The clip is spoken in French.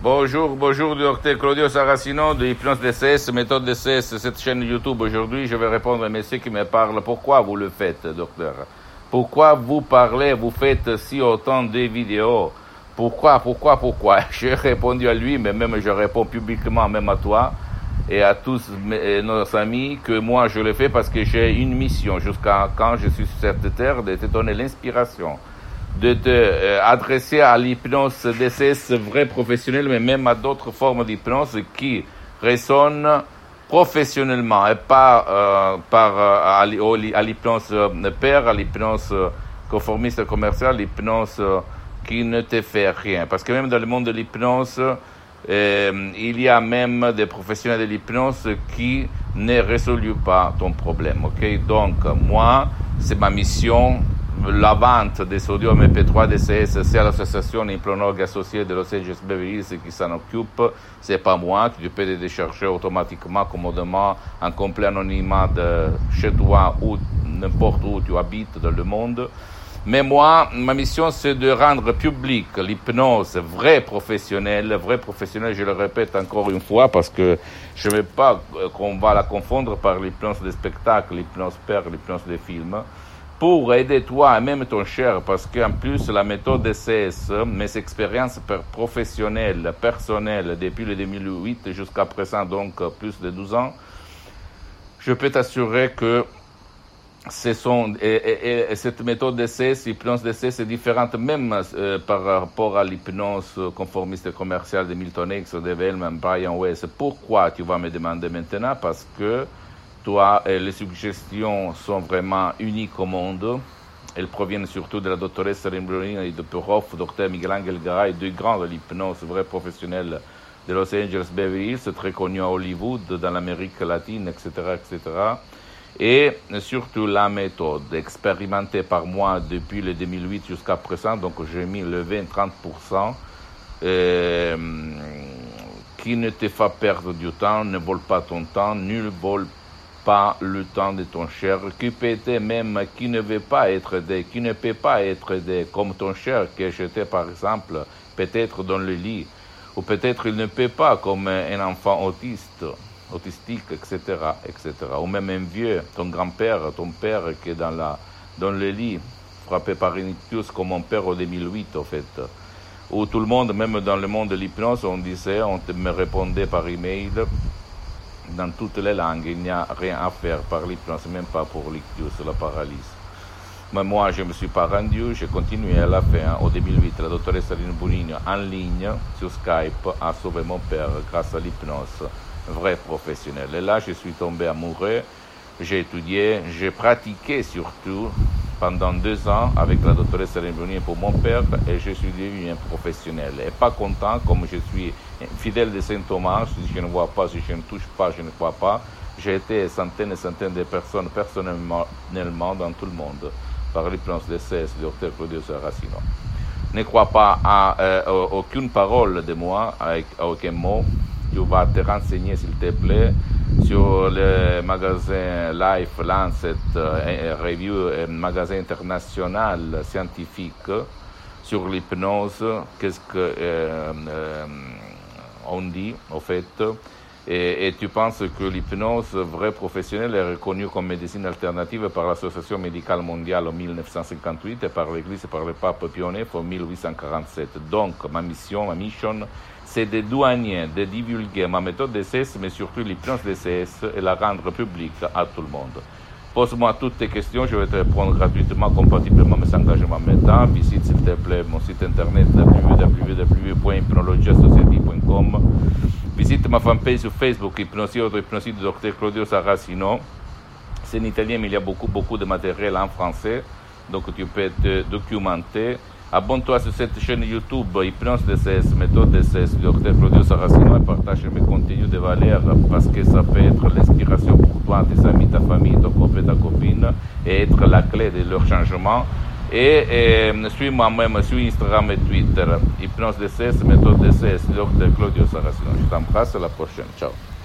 Bonjour, docteur Claudio Saracino de Hypnose DCS, méthode DCS, cette chaîne YouTube. Aujourd'hui, je vais répondre à monsieur qui me parle. Pourquoi vous le faites, docteur? Pourquoi vous parlez, vous faites si autant de vidéos? Pourquoi? J'ai répondu à lui, mais même je réponds publiquement, même à toi et à tous nos amis, que moi je le fais parce que j'ai une mission jusqu'à quand je suis sur cette terre, de te donner l'inspiration, de te adresser à l'hypnose DCS vrai professionnel, mais même à d'autres formes d'hypnose qui résonnent professionnellement et pas à l'hypnose père, à l'hypnose conformiste commerciale, l'hypnose qui ne te fait rien. Parce que même dans le monde de l'hypnose, il y a même des professionnels de l'hypnose qui ne résolvent pas ton problème. Ok? Donc, moi, c'est ma mission. La vente des audios MP3 DCS, c'est à l'association Hypnonologue associée de Los Angeles Beverly Hills qui s'en occupe. C'est pas moi. Tu peux les décharger automatiquement, commodément, en complet anonymat de chez toi ou n'importe où tu habites dans le monde. Mais moi, ma mission, c'est de rendre public l'hypnose vraie professionnelle, je le répète encore une fois, parce que je ne veux pas qu'on va la confondre par l'hypnose des spectacles, l'hypnose père, l'hypnose des films, pour aider toi et même ton cher, parce qu'en plus, la méthode DCS, mes expériences professionnelles, personnelles, depuis le 2008 jusqu'à présent, donc plus de 12 ans, je peux t'assurer que cette méthode DCS, l'hypnose DCS, est différente même par rapport à l'hypnose conformiste commerciale de Milton Hicks, de Vellman, Brian Weiss. Pourquoi, tu vas me demander maintenant? Parce que toi, les suggestions sont vraiment uniques au monde. Elles proviennent surtout de la doctoresse Rimbrolina et de prof, docteur Miguel Angel Garay, deux grands de l'hypnose vrai professionnel de Los Angeles Beverly Hills, très connus à Hollywood, dans l'Amérique latine, etc., etc. Et surtout la méthode expérimentée par moi depuis le 2008 jusqu'à présent, donc j'ai mis le 20-30%, qui ne te fait perdre du temps, ne vole pas ton temps, ne vole pas le temps de ton cher, qui peut être même, qui ne veut pas être aidé, qui ne peut pas être aidé, comme ton cher que j'étais par exemple, peut-être dans le lit, ou peut-être il ne peut pas, comme un enfant autistique, etc., etc. Ou même un vieux, ton grand-père, ton père qui est dans le lit, frappé par une ictus comme mon père au 2008, en fait. Où tout le monde, même dans le monde de l'hypnose, on me répondait par email, dans toutes les langues, il n'y a rien à faire par l'hypnose, même pas pour l'ictus, la paralysie. Mais moi, je ne me suis pas rendu, j'ai continué à la fin, au 2008, la doctoresse Aline Bonigno, en ligne, sur Skype, a sauvé mon père grâce à l'hypnose vrai professionnel. Et là, je suis tombé amoureux, j'ai étudié, j'ai pratiqué surtout pendant 2 ans avec la doctoresse Rimbrolina pour mon père et je suis devenu un professionnel. Et pas content, comme je suis fidèle de Saint Thomas, si je ne vois pas, si je ne touche pas, je ne crois pas. J'ai été centaines et centaines de personnes personnellement dans tout le monde par l'hypnose DCS, le docteur Claudio Saracino. Ne crois pas à aucune parole de moi, à aucun mot. Tu vas te renseigner, s'il te plaît, sur le magasin Life, Lancet, Review, magasin international scientifique sur l'hypnose. Qu'est-ce qu'on dit, en fait? Et tu penses que l'hypnose vraie professionnelle est reconnue comme médecine alternative par l'Association médicale mondiale en 1958 et par l'Église et par le pape Pie IX en 1847. Donc, ma mission, c'est de douanier, de divulguer ma méthode DCS, mais surtout l'hypnose DCS et la rendre publique à tout le monde. Pose-moi toutes tes questions, je vais te répondre gratuitement, compatiblement à mes engagements maintenant. Visite s'il te plaît mon site internet www.hypnologiassociative.com. Visite ma fanpage sur Facebook, Hypnosie Auto-Hypnosie du Dr Claudio Saracino. C'est en italien, mais il y a beaucoup de matériel en français, donc tu peux te documenter. Abonne-toi sur cette chaîne YouTube, Hypnose DCS, méthode DCS, du Dr Claudio Saracino, et partage mes contenus de valeur parce que ça peut être l'inspiration pour toi, tes amis, ta famille, ton copain, ta copine, et être la clé de leur changement. Et suis-moi même sur Instagram et Twitter, Hypnose DCS, méthode DCS, Dr Claudio Saracino. Je t'embrasse, à la prochaine. Ciao.